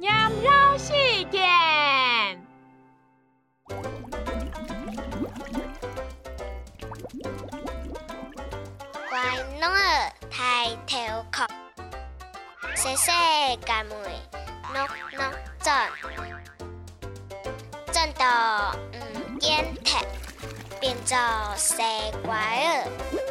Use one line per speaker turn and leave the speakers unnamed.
羊肉事件。
乖囡儿抬头壳，细细家门喏喏转，转到唔见踢，变做西瓜儿。